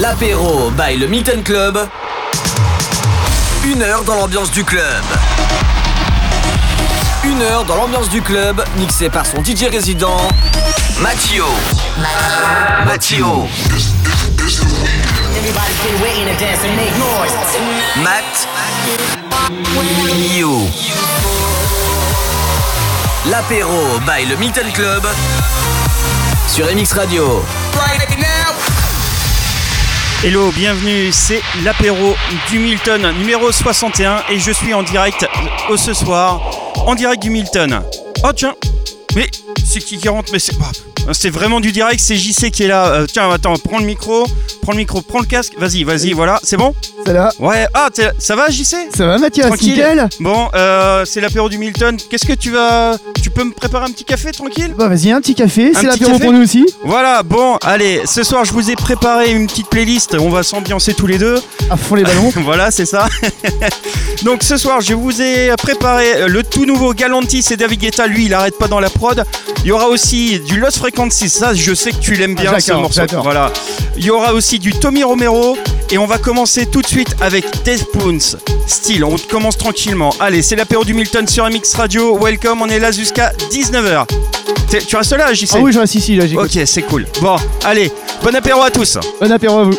L'apéro by le Milton Club. 1 heure dans l'ambiance du club. 1 heure dans l'ambiance du club, mixé par son DJ résident, Mattio. Matt. You. L'apéro by le Milton Club sur MX Radio. Hello, bienvenue, c'est l'apéro du Milton numéro 61 et je suis en direct ce soir, en direct du Milton. Oh tiens, mais c'est qui rentre, mais c'est vraiment du direct, c'est JC qui est là. Tiens, attends, prends le micro, prends le casque, vas-y, voilà, c'est bon ? Ça va ? Ouais, ça va JC ? Ça va Mathias, tranquille. Nickel. Bon, c'est l'apéro du Milton, qu'est-ce que tu peux me préparer un petit café tranquille ? Bah vas-y, un petit café, c'est l'apéro café pour nous aussi. Voilà, bon, allez, ce soir je vous ai préparé une petite playlist, on va s'ambiancer tous les deux. À fond les ballons. Voilà, c'est ça. Donc ce soir je vous ai préparé le tout nouveau Galantis et David Guetta, lui il arrête pas dans la prod. Il y aura aussi du Lost Frequencies, ça je sais que tu l'aimes bien ce morceau. J'adore. Voilà. Il y aura aussi du Tommy Romero et on va commencer tout de suite avec Deathpoons. Style, on commence tranquillement. Allez, c'est l'apéro du Milton sur MX Radio. Welcome, on est là jusqu'à 19h. Tu restes là, JC ? Ah oui, je reste ici, là, j'écoute. Ok, c'est cool. Bon, allez, bon apéro à tous. Bon apéro à vous.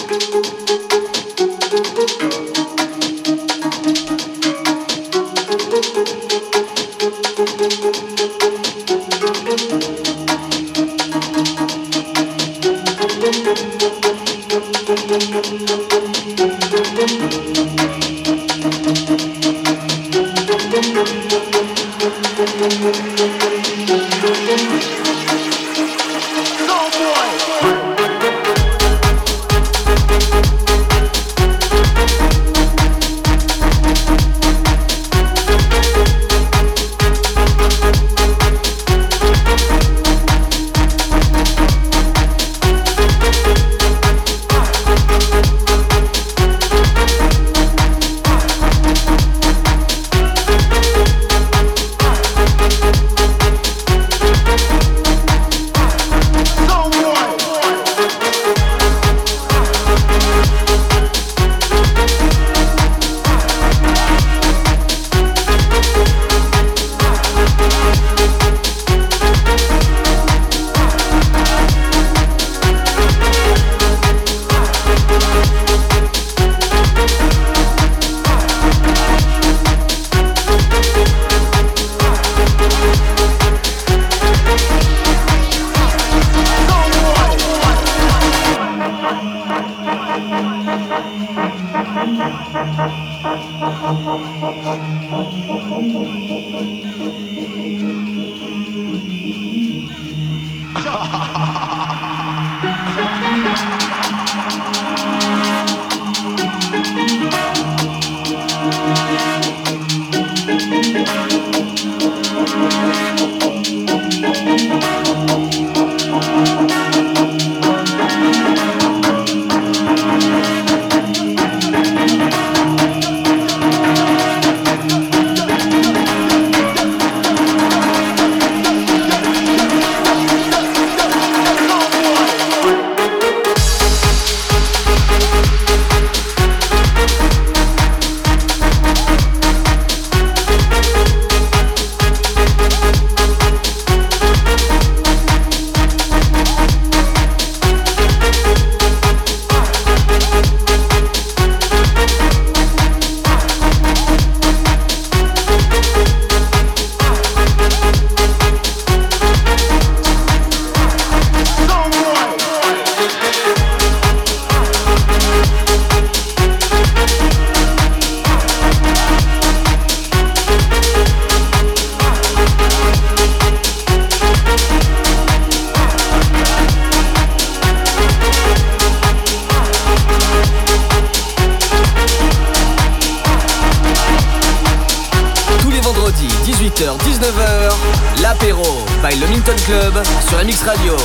by le Milton Club sur MX Radio.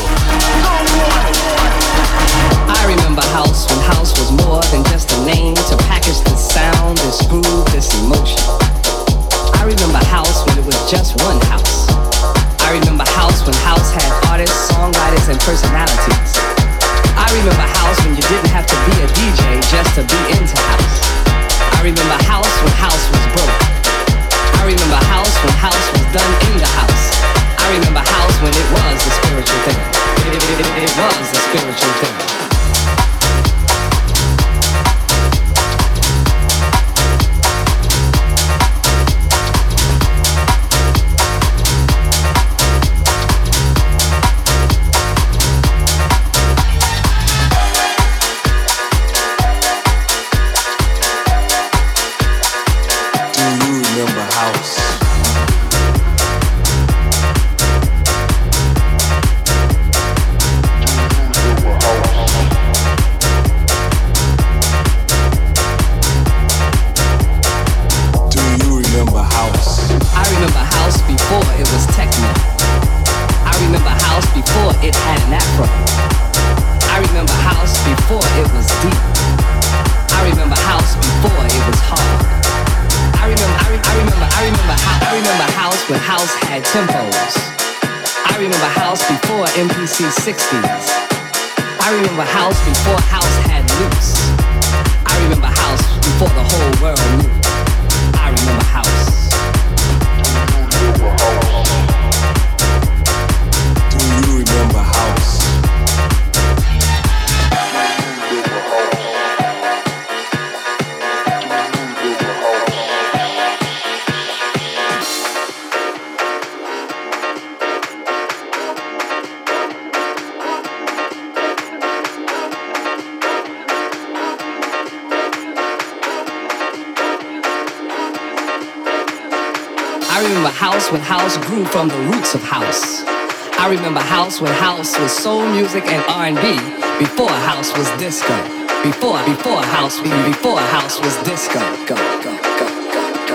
I remember house when house was more than just a name to package this sound, this groove, this emotion. I remember house when it was just one house. I remember house when house had artists, songwriters, and personalities. I remember house when you didn't have to be a DJ just to be into house. I remember house when house was broke. I remember house when house was done in the house. I remember house when it was a spiritual thing. It was a spiritual thing. When house had tempos. I remember house before MPC 60s. I remember house before house had loops. I remember house before the whole world knew. I remember house. Do you remember house? I remember house when house grew from the roots of house. I remember house when house was soul music and R&B. Before house was disco. Before house was disco. Go, go, go, go, go,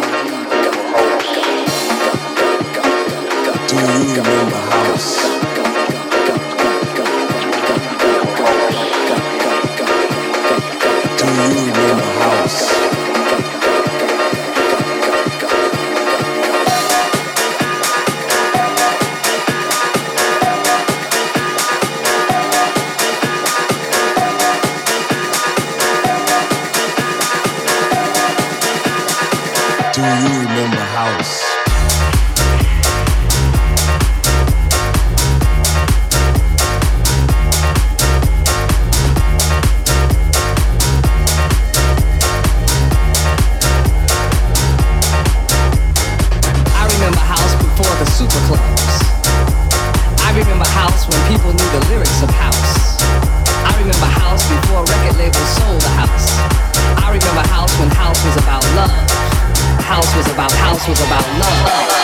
go, go. Do you remember house? Do you remember house? Do you remember house? I remember house before the super clubs. I remember house when people knew the lyrics of house. I remember house before record labels sold the house. I remember house when house was about love. House was about love.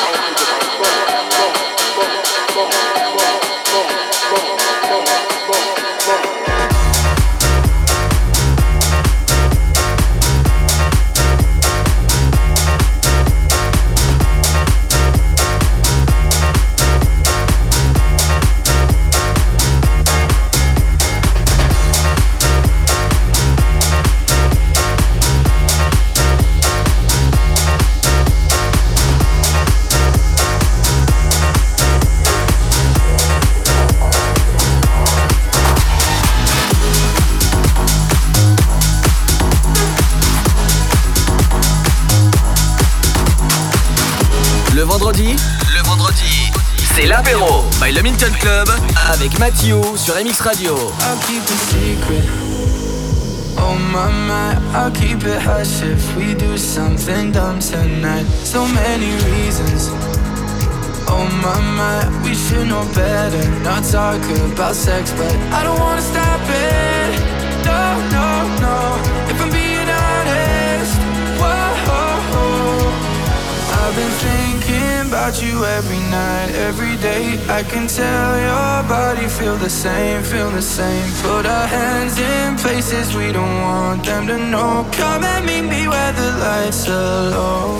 Le vendredi, c'est l'apéro by le Milton Club avec Mathieu sur MX Radio. I'll keep it secret. Oh my, I'll keep it hush if we do something dumb tonight. So many reasons. Oh my, we should know better. Not talk about sex, but I don't wanna stop it. No. If I'm being honest, whoa. I've been thinking about you every night, every day. I can tell your body feel the same. Put our hands in places we don't want them to know. Come and meet me where the lights are low.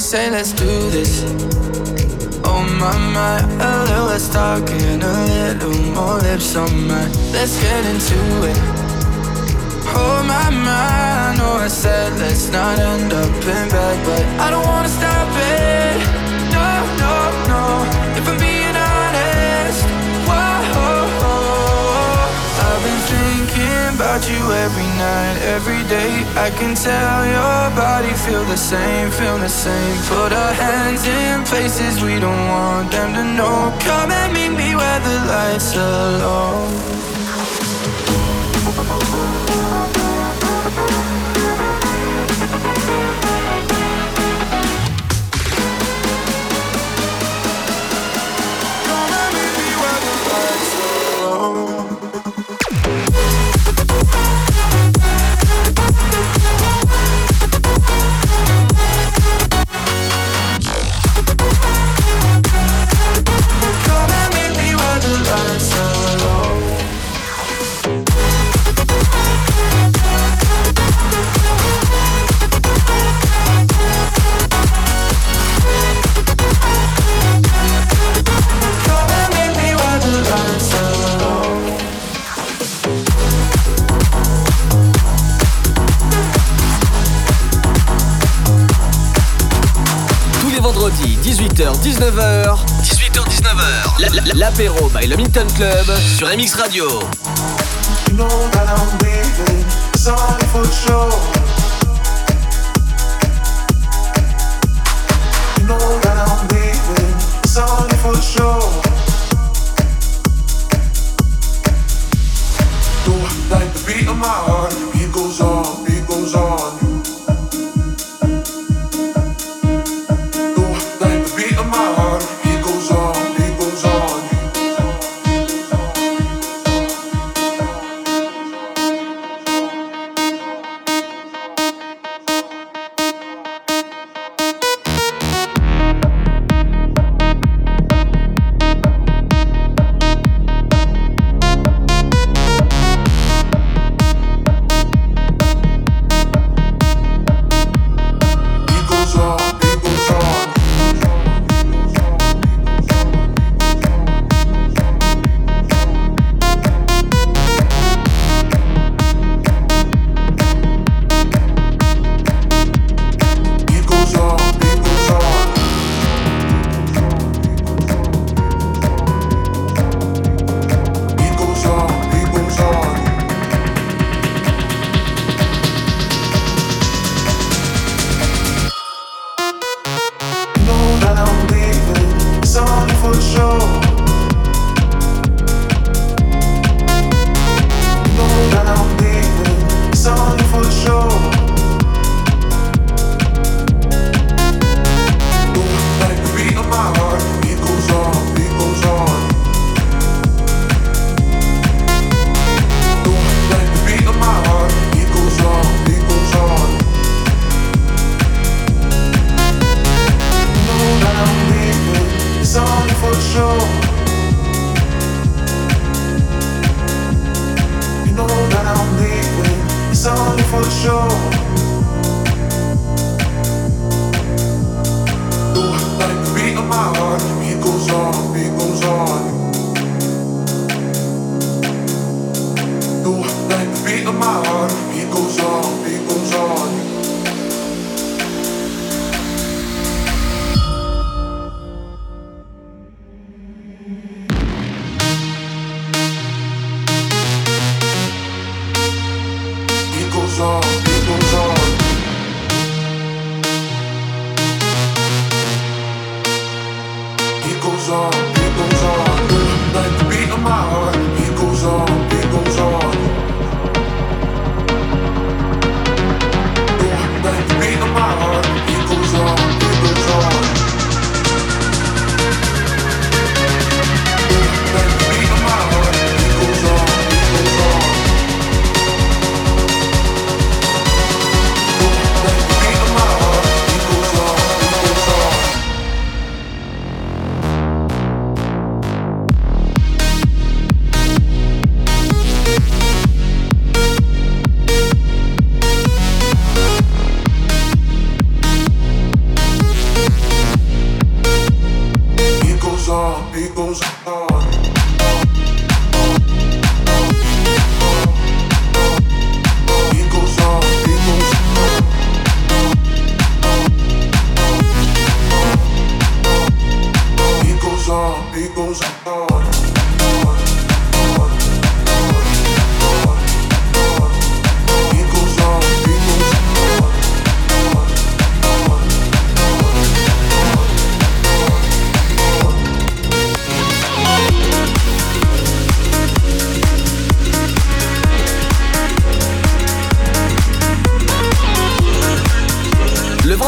say let's do this. Oh my, a little less talking, a little more lips on mine. Let's get into it. Oh my, I know I said let's not end up in bed, but I don't wanna stop it. No, if I'm being honest. Whoa, I've been thinking about you every night, every day. I can tell your body feel the same. Put our hands in places we don't want them to know. Come and meet me where the lights are low. Vendredi 18h-19h, l'apéro by le Minton Club sur MX Radio. You know that I'm leaving, it's only for sure. You know that I'm leaving, it's only for sure. Do I like the beat of my heart? Beat goes on, beat goes on.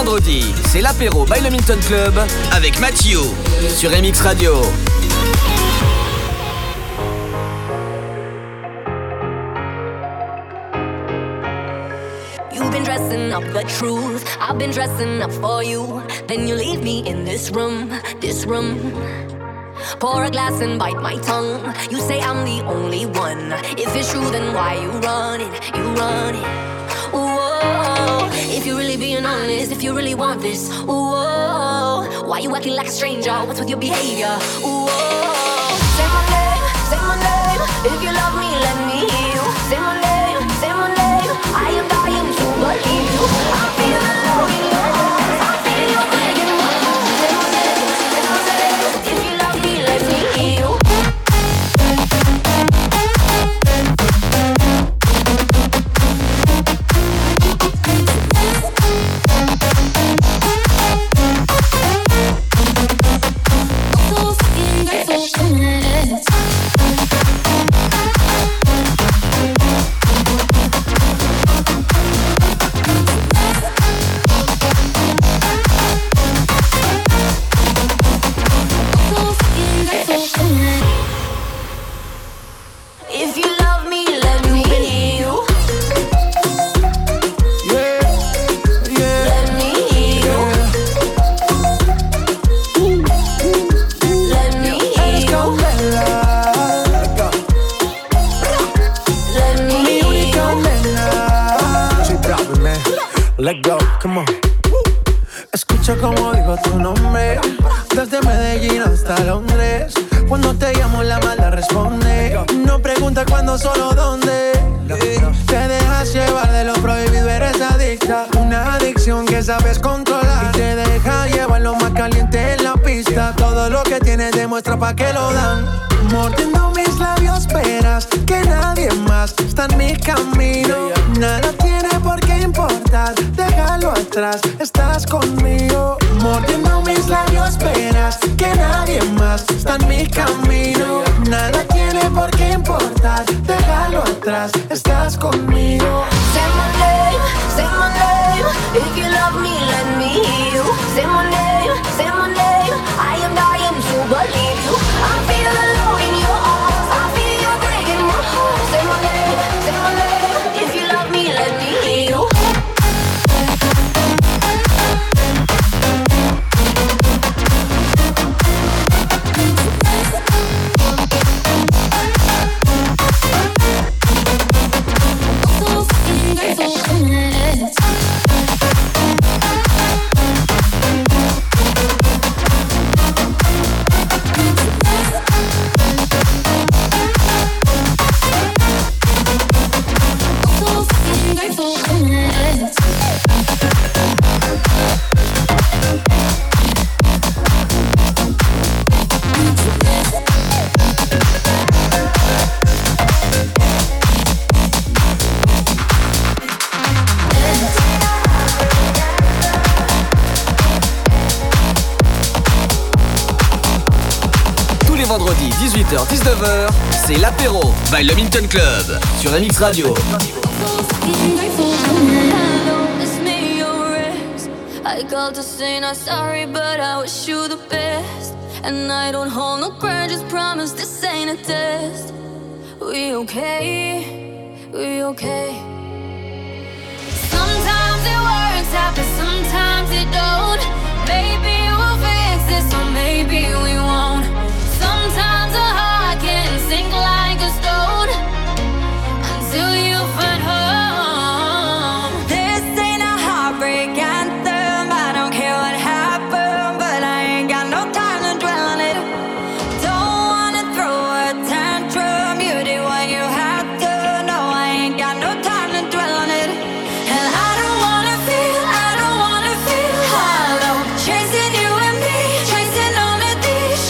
vendredi, c'est l'apéro by le Milton Club avec Mathieu sur MX Radio. You've been dressing up the truth, I've been dressing up for you. Then you leave me in this room, this room. Pour a glass and bite my tongue. You say I'm the only one. If it's true, then why you run it, you run it. Whoa, if you're really being honest, if you really want this, whoa, why you acting like a stranger? What's with your behavior? Whoa, say my name, if you love me, let me hear you. Say my name, I am dying to believe you. I feel alone in your arms, I feel your breaking my heart. Say my name, if you love me, let me hear you. If you love me, let me hear you. Let me hear you. Let me hear you. Let me hear you. Let go, come on. Escucha como digo tu nombre, desde Medellín hasta Londres. Cuando te llamo la mala responde. No pregunta cuándo, solo dónde. Te dejas llevar de lo prohibido, eres adicta. Una adicción que sabes controlar y te deja llevar lo más caliente en la pista. Todo lo que tienes demuestra pa' que lo dan. Mordiendo mis labios verás que nadie más está en mi camino. Nada tiene por qué importar, déjalo atrás, estás conmigo. Mordiendo mis labios verás que nadie más está en mi camino. Nada tiene por qué importar, déjalo atrás, estás conmigo. Say my name, if you love me, let me hear you. Say my name, I am dying to believe you. I feel alone in your arms, I feel you breaking my heart. Say my name, if you love me, let me hear you. Vendredi 18h-19h, c'est l'apéro by le Milton Club sur MX Radio. I called to say not sorry, but I wish you the best. And I don't hold no grudges, promise this ain't a test. We okay, we okay. Sometimes it works out, but sometimes it don't. Maybe we'll fix this, or maybe we won't. Sometimes a heart can sink like a stone until you find home. This ain't a heartbreak anthem. I don't care what happened, but I ain't got no time to dwell on it. Don't wanna throw a tantrum. You did what you had to. No, I ain't got no time to dwell on it. And I don't wanna feel hollow. Chasing you and me, chasing all of these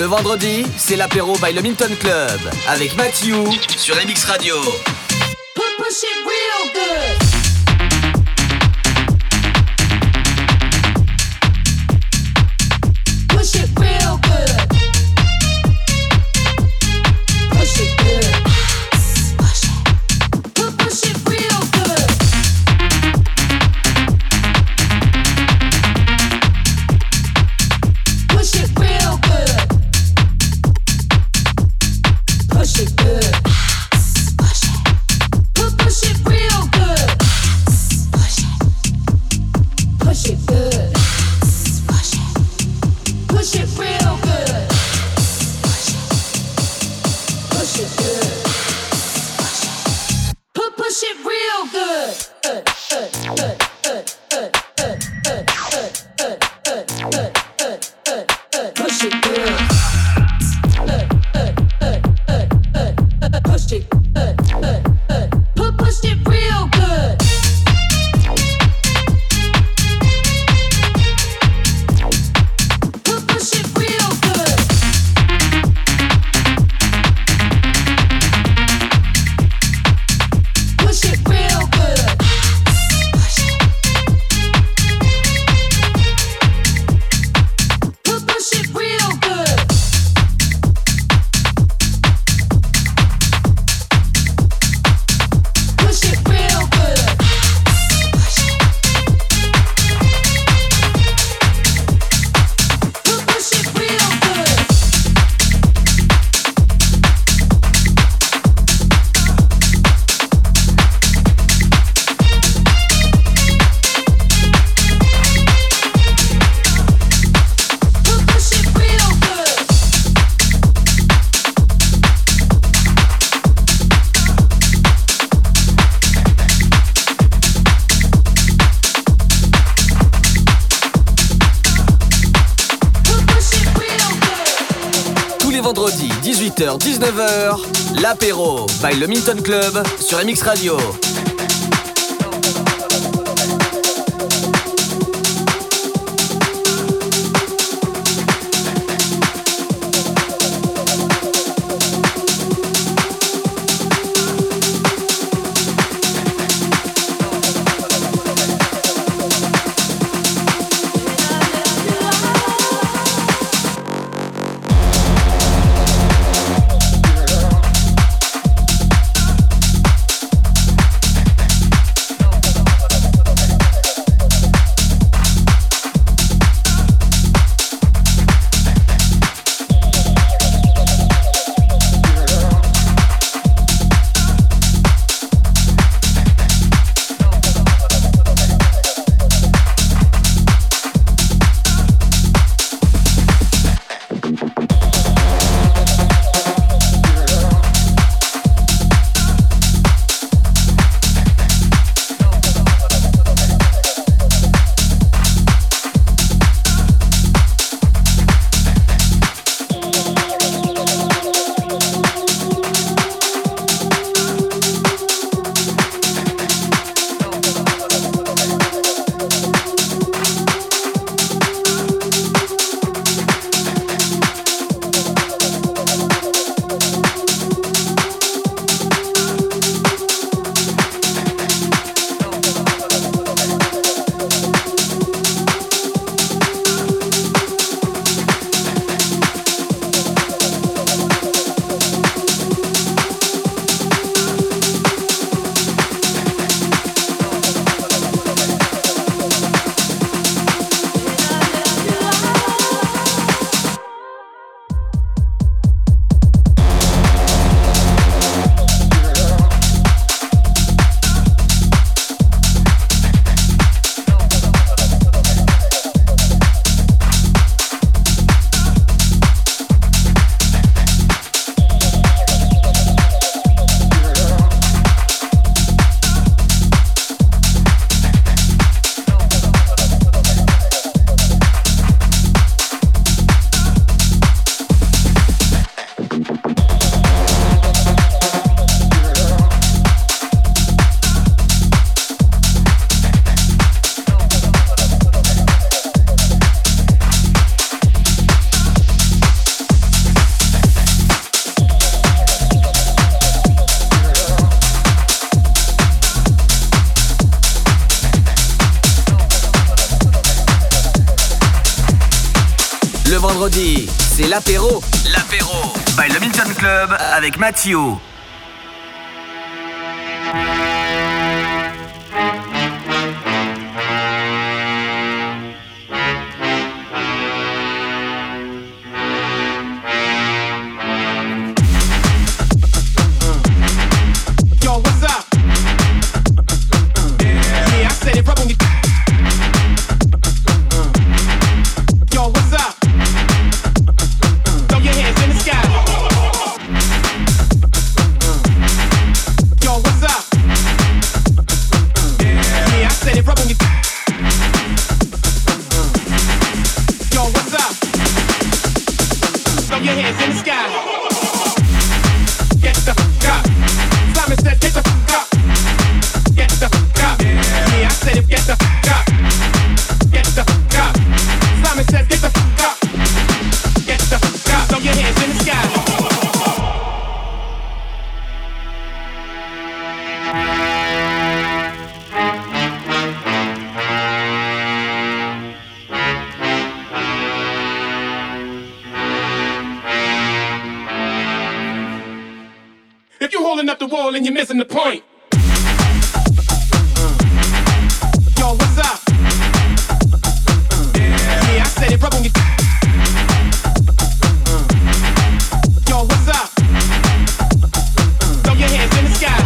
vendredi, c'est l'apéro by le Minton Club avec Mathieu sur MX Radio. Push it real good. Push it real good. Push it good. Push it. Push it real good. Push it real good. Push it good. Push it real good. Push it. Push it good. Push it. Push it real good. Push it good. Push it real good. Push it good. Push it. Push it real good. Push it real good. Push it real good. Push it. Push it real good. Push it real good. Push it. Push it real good. Push it real good. Push it real good. Tous les vendredis, 18h-19h, l'apéro by le Minton Club sur MX Radio. vendredi, c'est l'apéro. L'apéro by le Milton Club avec Mathieu. If you're holding up the wall and you're missing the point. Yo, what's up? Yeah, I said it right when you. Yo, what's up? Throw your hands in the sky.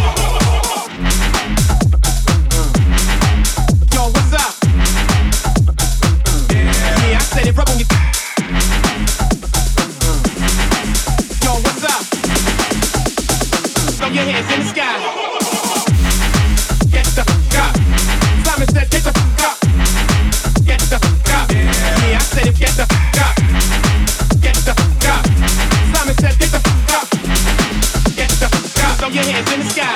Yo, what's up? Yeah, I said it right when you. Yo, what's up? Throw your hands in the sky. Get the fuck up. Simon said, get the fuck up. Get the fuck up. Yeah, I said it, get the fuck up. Get the fuck up. Simon said, get the fuck up. Get the fuck up. Throw your hands in the sky.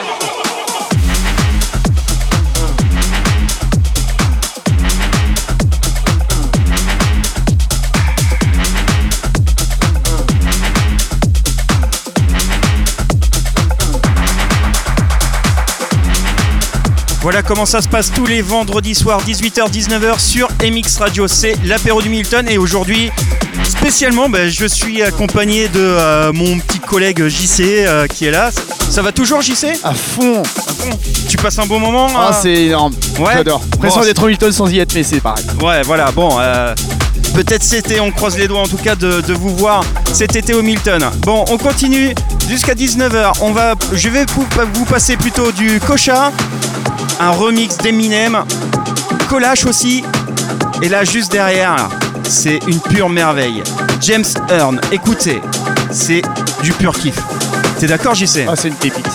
Voilà comment ça se passe tous les vendredis soirs 18h-19h sur MX Radio. C'est l'apéro du Milton et aujourd'hui spécialement je suis accompagné de mon petit collègue JC qui est là. Ça va toujours JC ? À fond. Tu passes un bon moment ? Ah c'est énorme, ouais. J'adore. Pression d'être au Milton sans y être mais c'est pareil. Ouais voilà bon peut-être cet été, on croise les doigts en tout cas de vous voir cet été au Milton. Bon on continue jusqu'à 19h. Je vais vous passer plutôt du Kocha, un remix d'Eminem, Kolash aussi, et là juste derrière, là, c'est une pure merveille. James Earn, écoutez, c'est du pur kiff. T'es d'accord JC ? Ah c'est une pépite.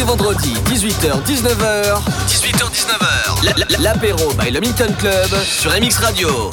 vendredi, 18h-19h. 18h-19h. L'apéro by le Milton Club sur MX Radio.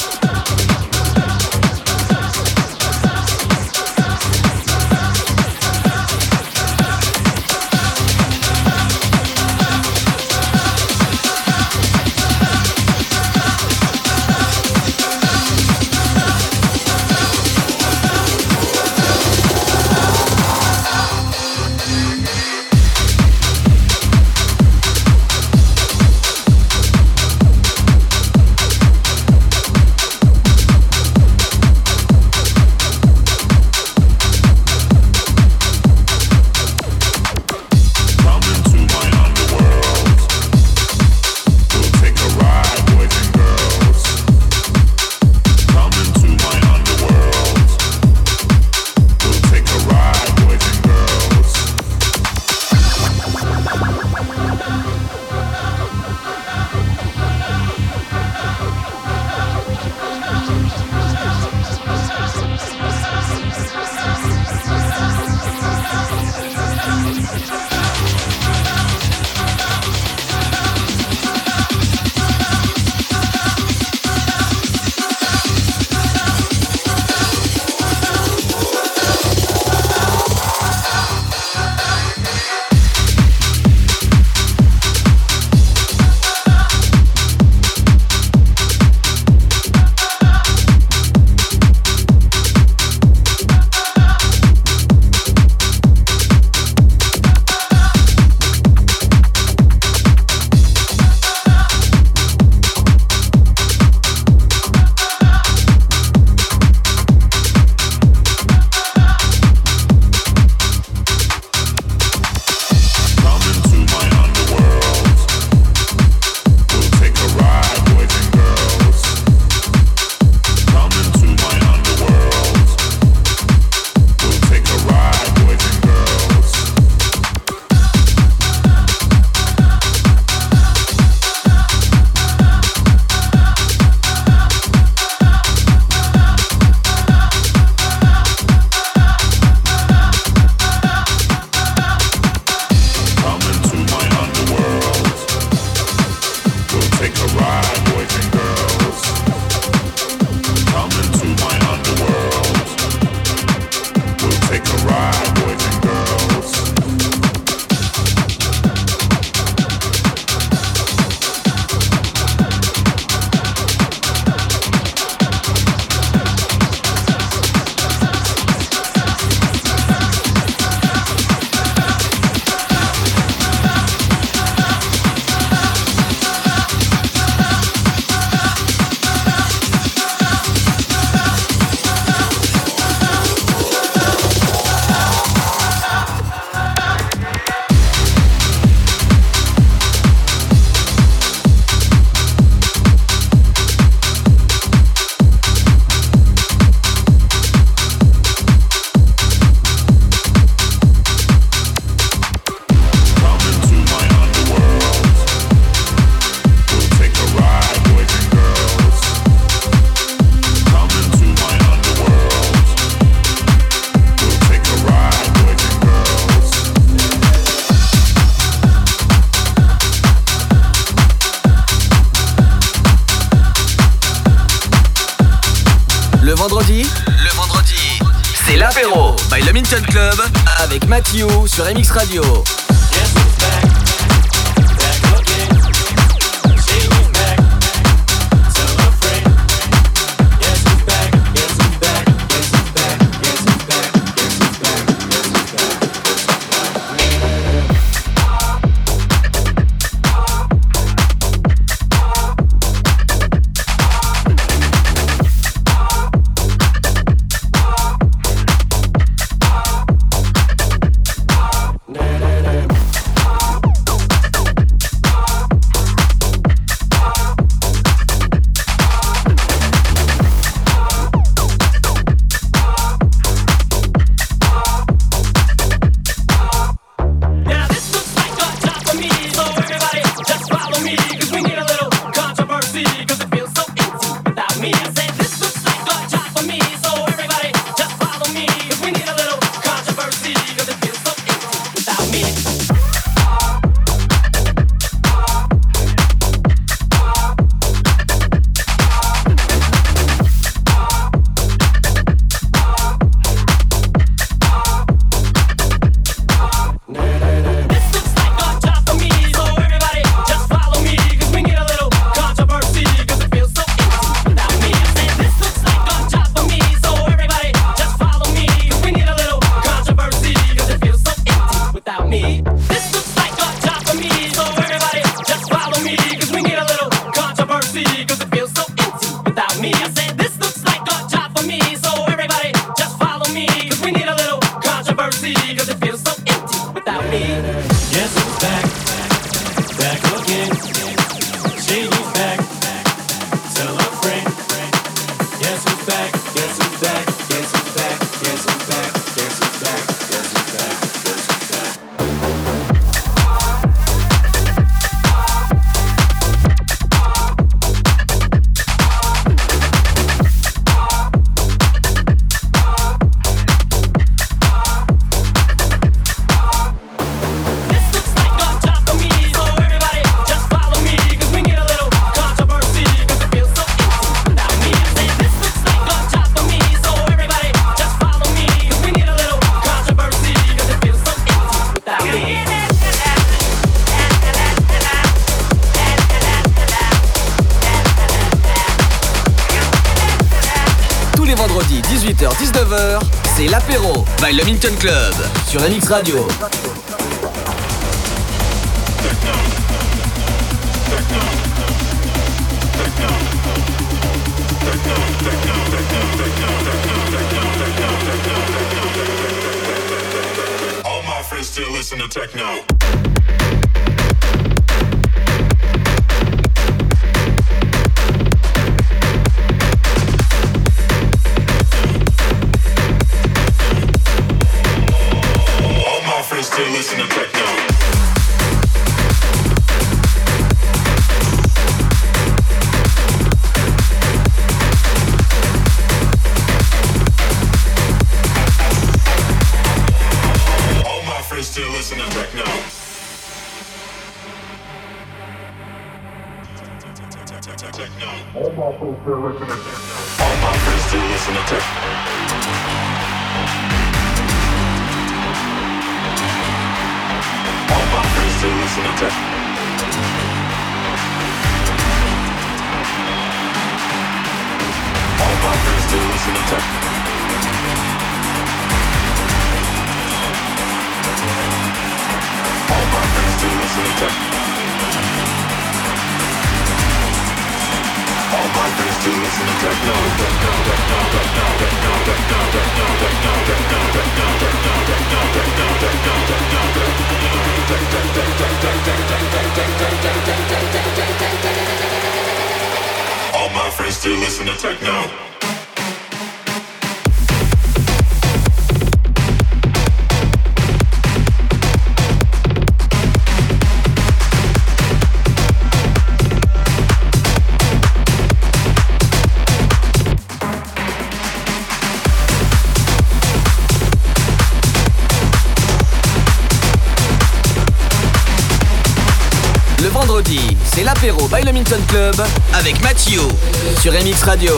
Le vendredi, c'est l'apéro by le Milton Club avec Mathieu sur MX Radio. controversy, cause it feels so empty without me. Guess who's back? Back again. Shady's back. Tell a friend. Guess who's back? Guess who's back? Guess who's back? Guess who's back? Guess who's back? Guess who's back? Guess who's back? Vendredi 18h-19h, c'est l'apéro by le Minton Club sur MX Radio. All my friends still listen to techno. Still listen to techno. All my friends still listen to techno. Techno. All my friends still listen to techno. All my friends still listen to techno. All my friends still listen to techno. All my friends still listen to techno. All my friends still listen to techno. All my friends still listen to techno. All my friends still listen to techno. Le vendredi, c'est l'apéro by le Minton Club avec Mathieu sur MX Radio.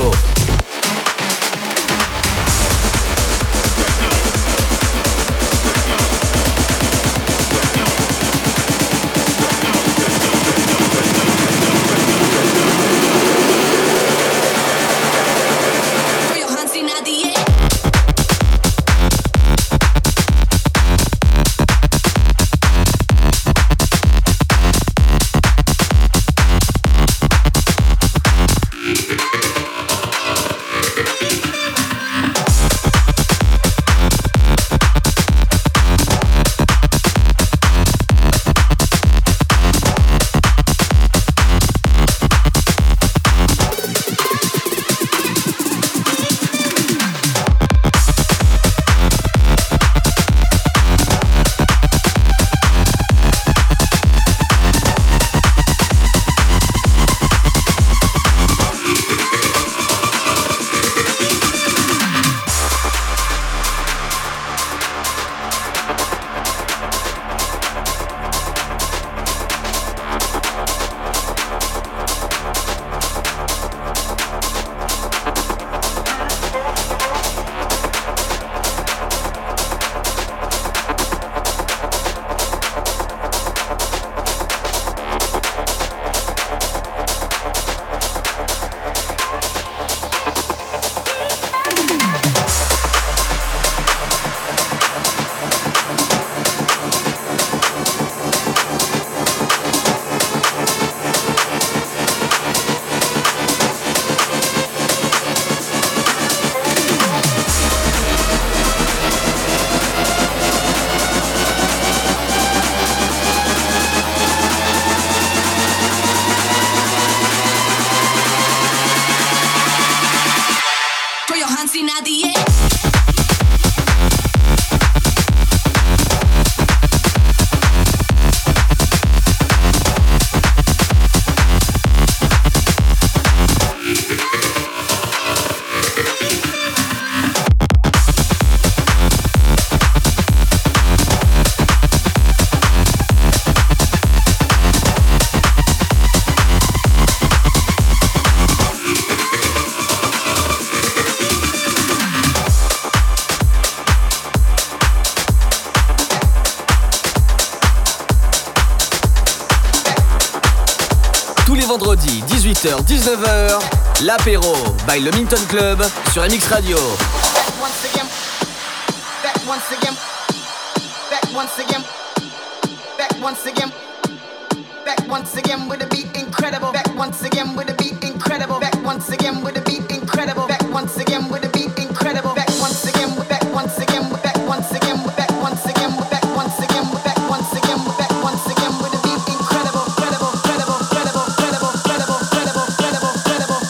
vendredi 18h-19h, l'apéro by le Minton Club sur MX Radio. Once again with a beat incredible. Back once again with a beat incredible. Back once again with a beat incredible. Back once again with a beat incredible. Back once again with back once again with back once again with back once again with back once again with back once again with back once again with a beat incredible. Credible, credible, credible, credible, credible, credible, credible, credible,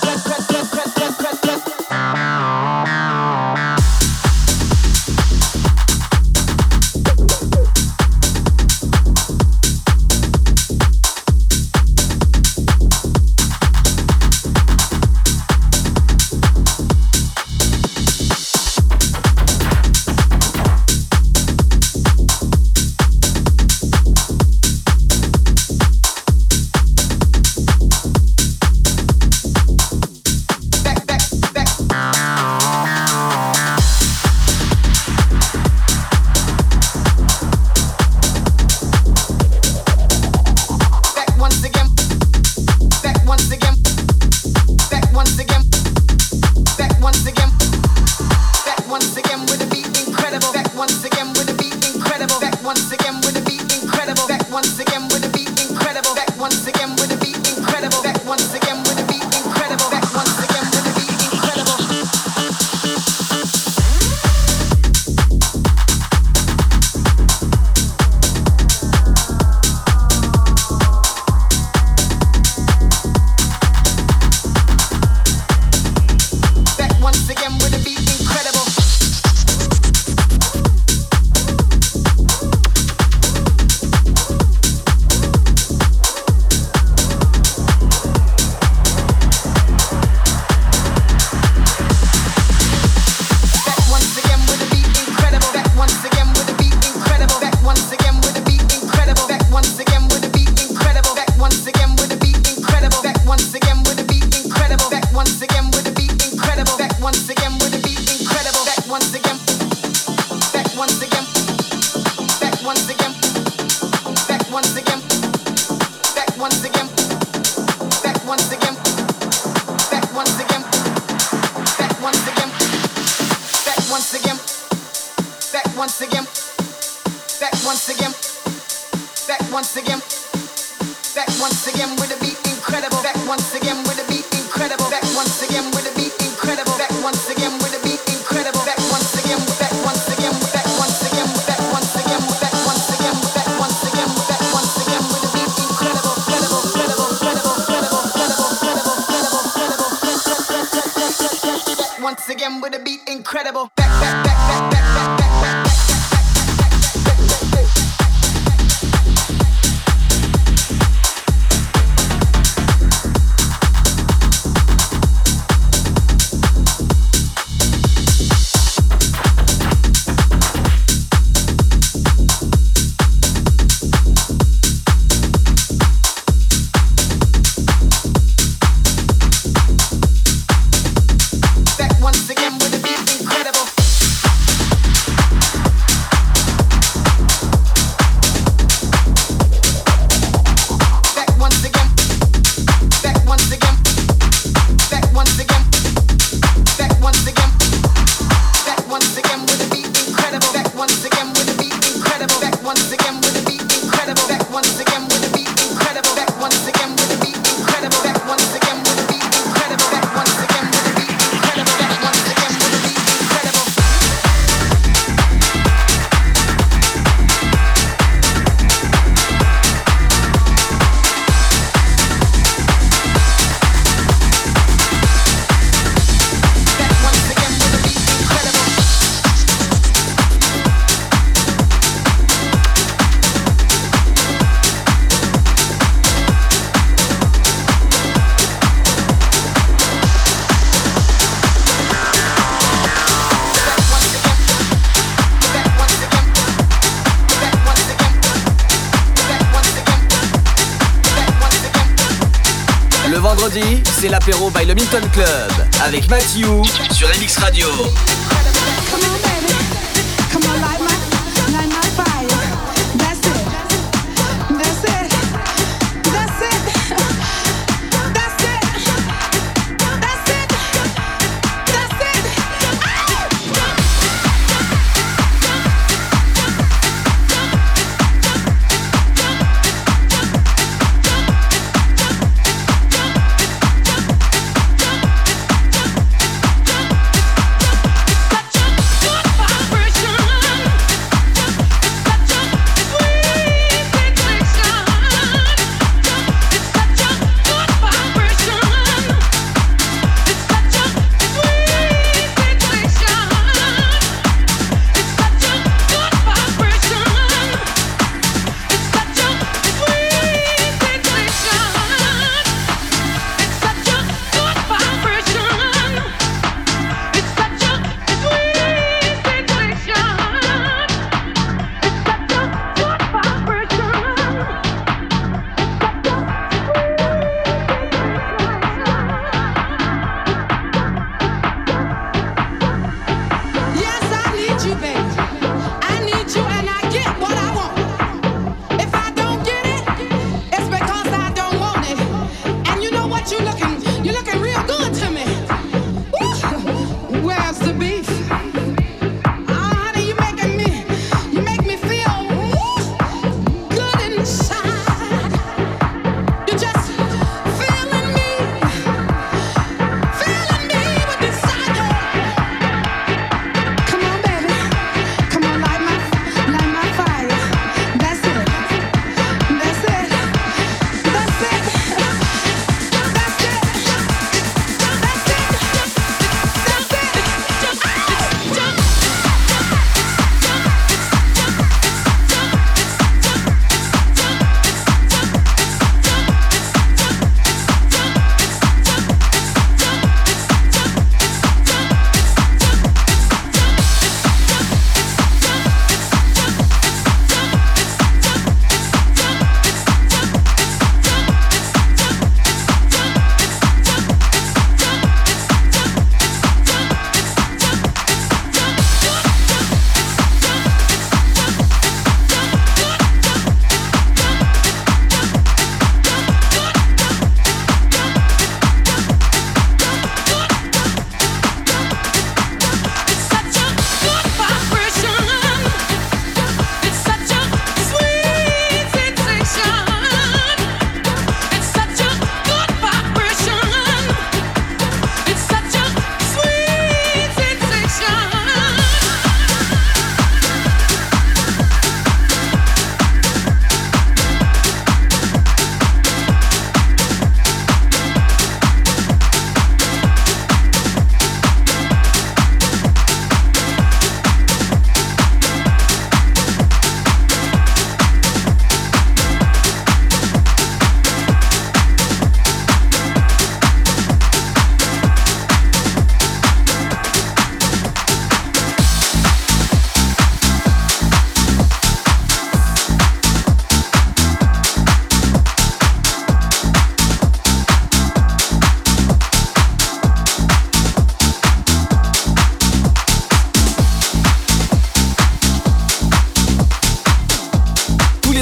C'est l'apéro by le Minton Club avec Matthew sur MX Radio.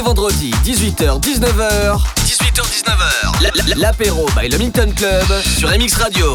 vendredi, 18h-19h. 18h-19h. L'apéro by le Milton Club sur MX Radio.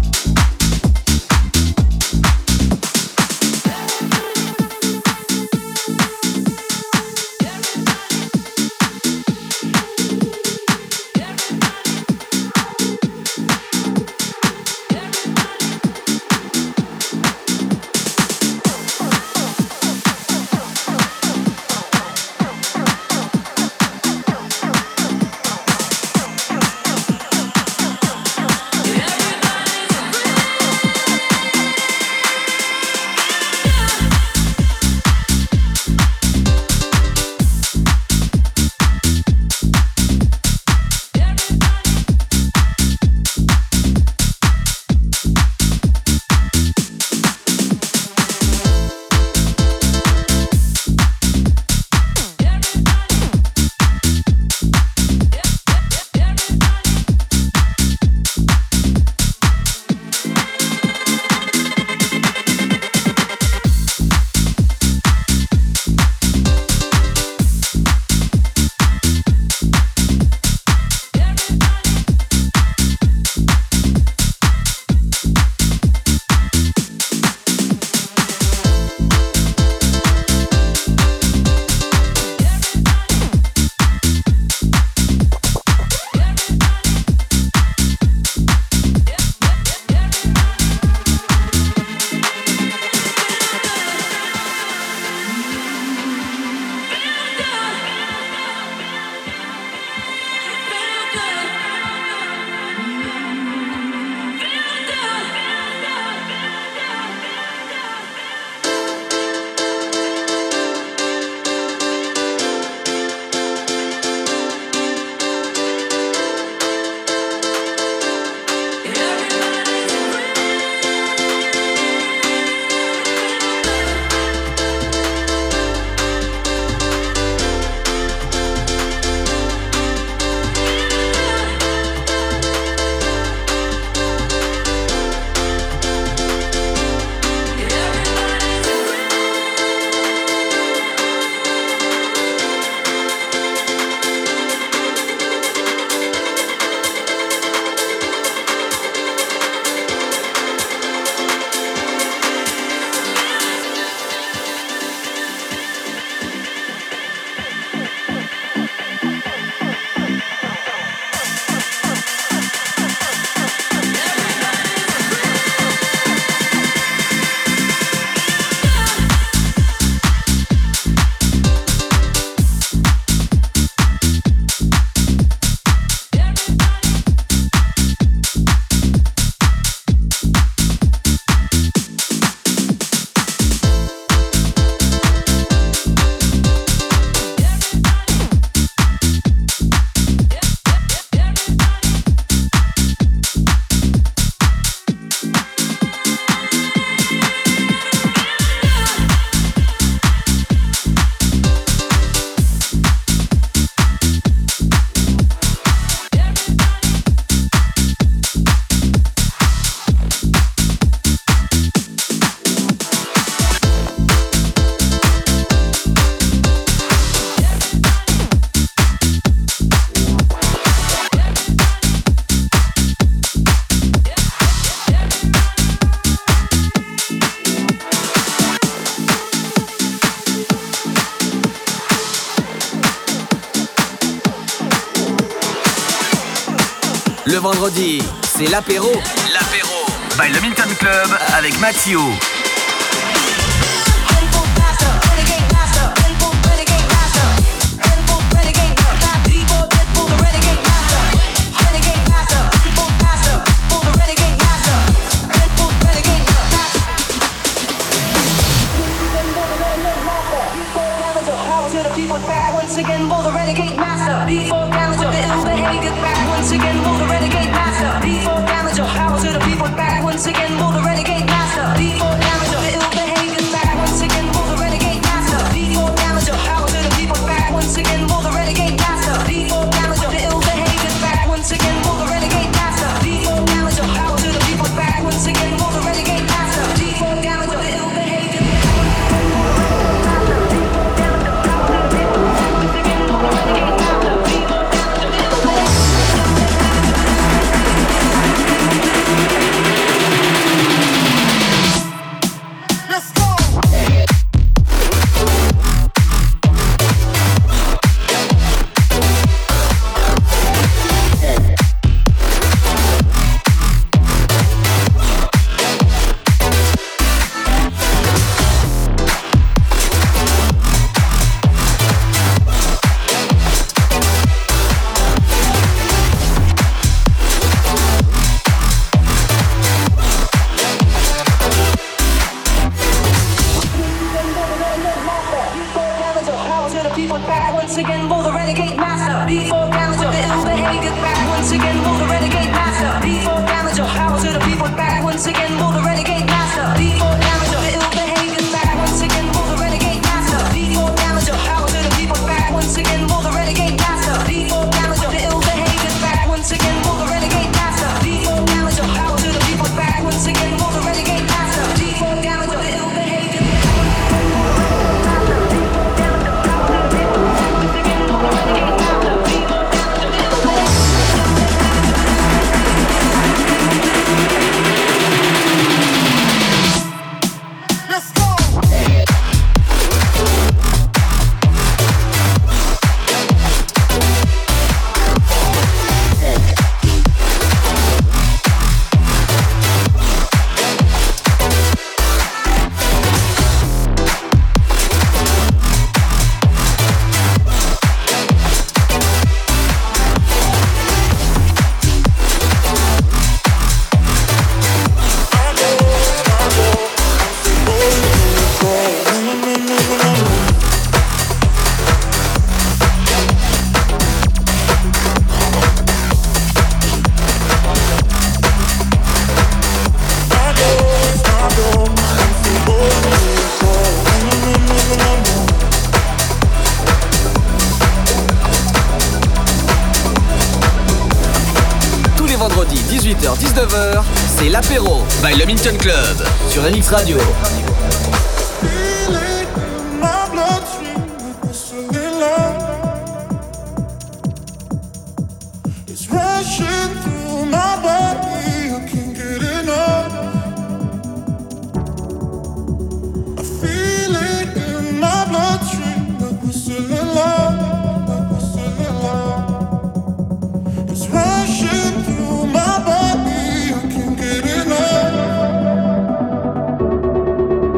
Le vendredi, c'est l'apéro. L'apéro by le Milton Club avec Mathieu. Once again, for the renegade master. Before challenger, the ill behavior back. Once again, for the renegade master. Before challenger, power to the people back. Once again, for the renegade master. Before challenger, the ill behavior back. Once again, for the renegade master. Before challenger, power to the people back. Once again, for the renegade master. Before challenger, the ill behavior back. Once again, for the renegade master. Before challenger, power to the people back. Once again, for the renegade master. Before challenger, the ill behavior back. to the people back once again. Move the renegade master. Before damager, the ill behavior back once again. Move the renegade master. Before damager, power to the people back once again. Move the renegade master. Before damager, the ill behavior back once again. Move the renegade master. Before damager, power to the people back once again. Move the renegade master. Before damager, the ill behavior back once again. Move the renegade master. Before damager, power to the people back once again. Move the renegade master. Before damager, the ill behavior. Vendredi 18h-19h, c'est l'apéro by le Milton Club sur MX Radio. My bloodstream, whistling loud. It's rushing through my body, I can't get enough. I feel it in my bloodstream, like whistling loud, like whistling loud. It's rushing through my body, I can't get enough.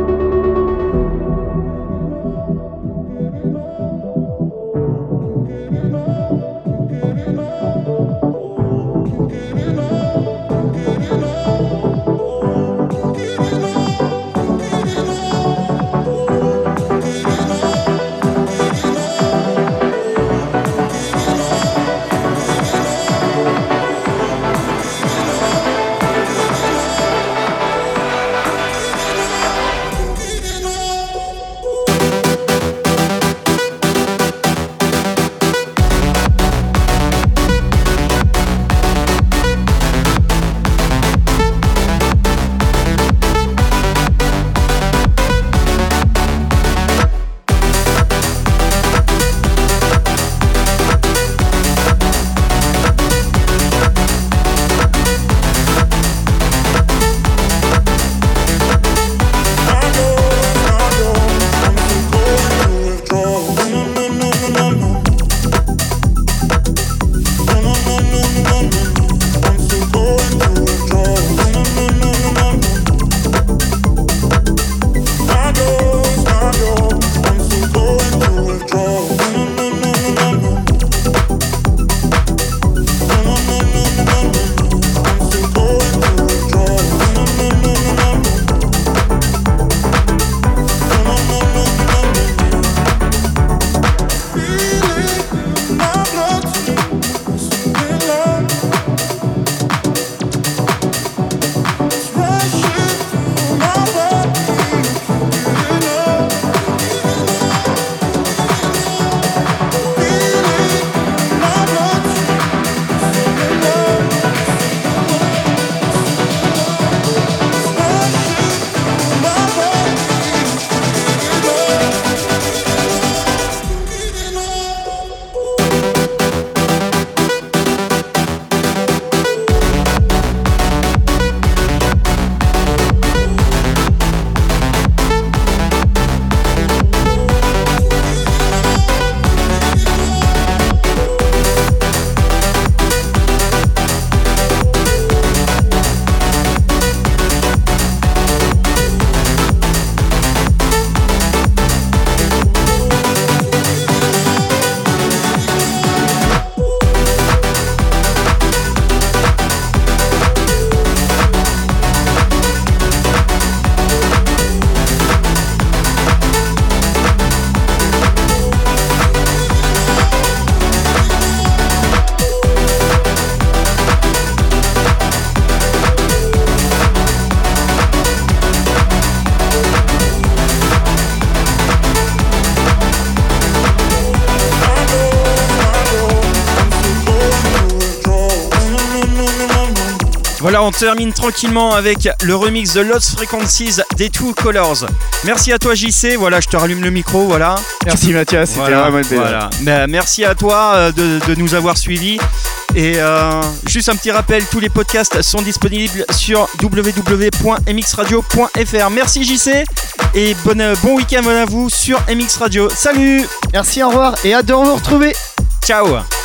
Voilà, on termine tranquillement avec le remix de Lost Frequencies des Two Colors. Merci à toi JC, voilà, je te rallume le micro, voilà. Merci Mathias, c'était vraiment une belle. Voilà. Merci à toi de nous avoir suivis. Et juste un petit rappel, tous les podcasts sont disponibles sur www.mxradio.fr. Merci JC et bon week-end à vous sur MX Radio. Salut. Merci, au revoir et hâte de vous retrouver. Ciao.